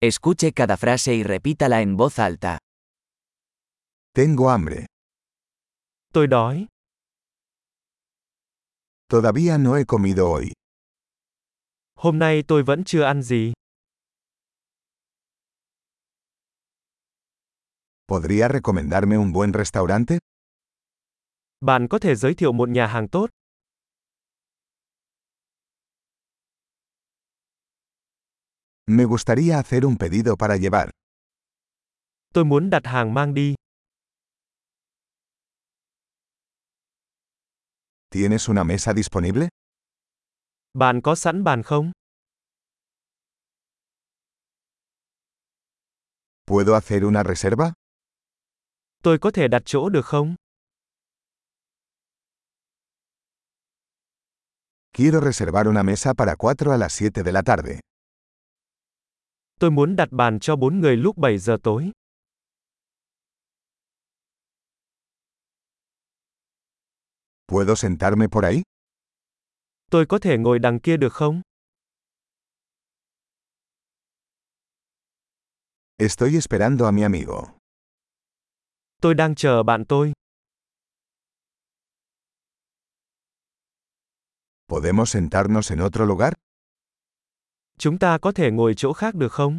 Escuche cada frase y repítala en voz alta. Tengo hambre. Tôi đói. Todavía no he comido hoy. Hôm nay tôi vẫn chưa ăn gì. ¿Podría recomendarme un buen restaurante? Bạn có thể giới thiệu một nhà hàng tốt. Me gustaría hacer un pedido para llevar. Tôi muốn đặt hàng mang đi. ¿Tienes una mesa disponible? Bạn có sẵn bàn không? ¿Puedo hacer una reserva? Tôi có thể đặt chỗ được không? Quiero reservar una mesa para 4 a las 7 de la tarde. Tôi muốn đặt bàn cho 4 người lúc 7 giờ tối. ¿Puedo sentarme por ahí? Tôi có thể ngồi đằng kia được không? Estoy esperando a mi amigo. Tôi đang chờ bạn tôi. ¿Podemos sentarnos en otro lugar? Chúng ta có thể ngồi chỗ khác được không?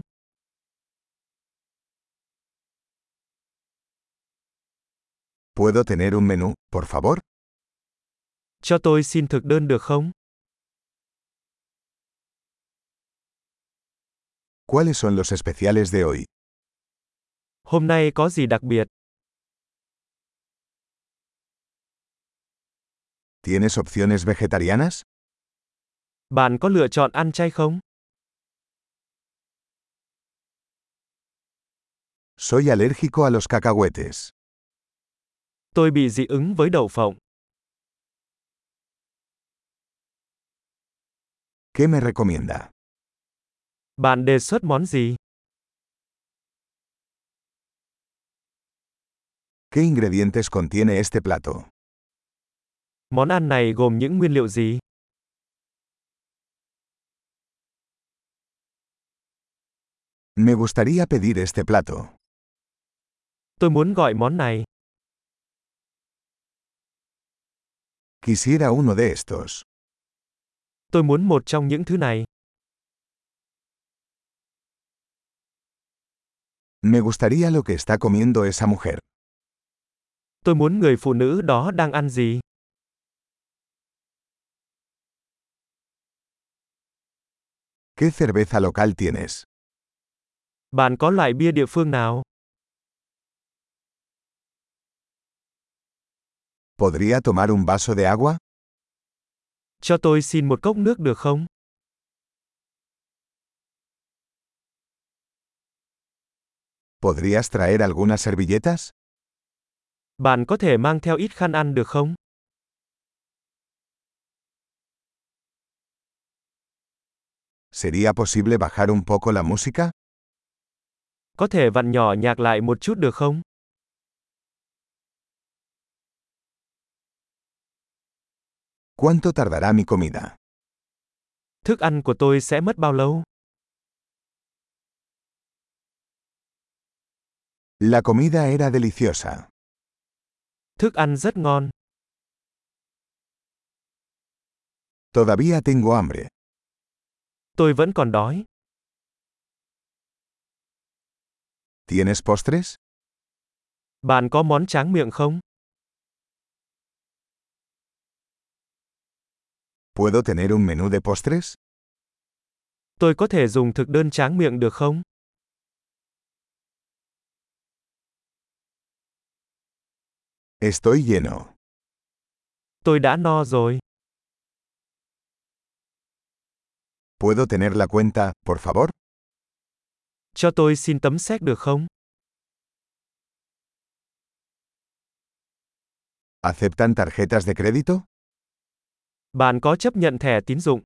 ¿Puedo tener un menú, por favor? Cho tôi xin thực đơn được không? ¿Cuáles son los especiales de hoy? Hôm nay có gì đặc biệt? ¿Tienes opciones vegetarianas? Bạn có lựa chọn ăn chay không? Soy alérgico a los cacahuetes. Tôi bị dị ứng với đậu phộng. ¿Qué me recomienda? Bạn đề xuất món gì? ¿Qué ingredientes contiene este plato? Món ăn này gồm những nguyên liệu gì? Me gustaría pedir este plato. Tôi muốn gọi món này. Quisiera uno de estos. Tôi muốn một trong những thứ này. Me gustaría lo que está comiendo esa mujer. Tôi muốn người phụ nữ đó đang ăn gì? ¿Qué cerveza local tienes? Bạn có loại bia địa phương nào? ¿Podría tomar un vaso de agua? Cho tôi xin một cốc nước được không? ¿Podrías traer algunas servilletas? Bạn có thể mang theo ít khăn ăn được không? ¿Sería posible bajar un poco la música? Có thể vặn nhỏ nhạc lại một chút được không? ¿Cuánto tardará mi comida? Thức ăn của tôi sẽ mất bao lâu? La comida era deliciosa. Thức ăn rất ngon. Todavía tengo hambre. Tôi vẫn còn đói. ¿Tienes postres? Bạn có món tráng miệng không? ¿Puedo tener un menú de postres? Tôi có thể dùng thực đơn tráng miệng được không? Estoy lleno. Tôi đã no rồi. ¿Puedo tener la cuenta, por favor? Cho tôi xin tấm séc được không? ¿Aceptan tarjetas de crédito? Bạn có chấp nhận thẻ tín dụng?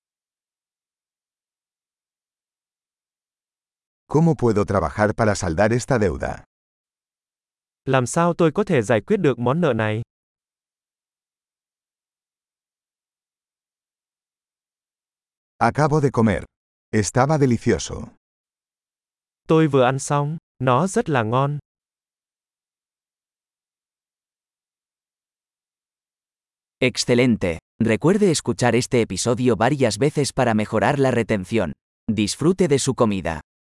¿Cómo puedo trabajar para saldar esta deuda? Làm sao tôi có thể giải quyết được món nợ này? Acabo de comer. Estaba delicioso. Tôi vừa ăn xong, nó rất là ngon. Excelente. Recuerde escuchar este episodio varias veces para mejorar la retención. Disfrute de su comida.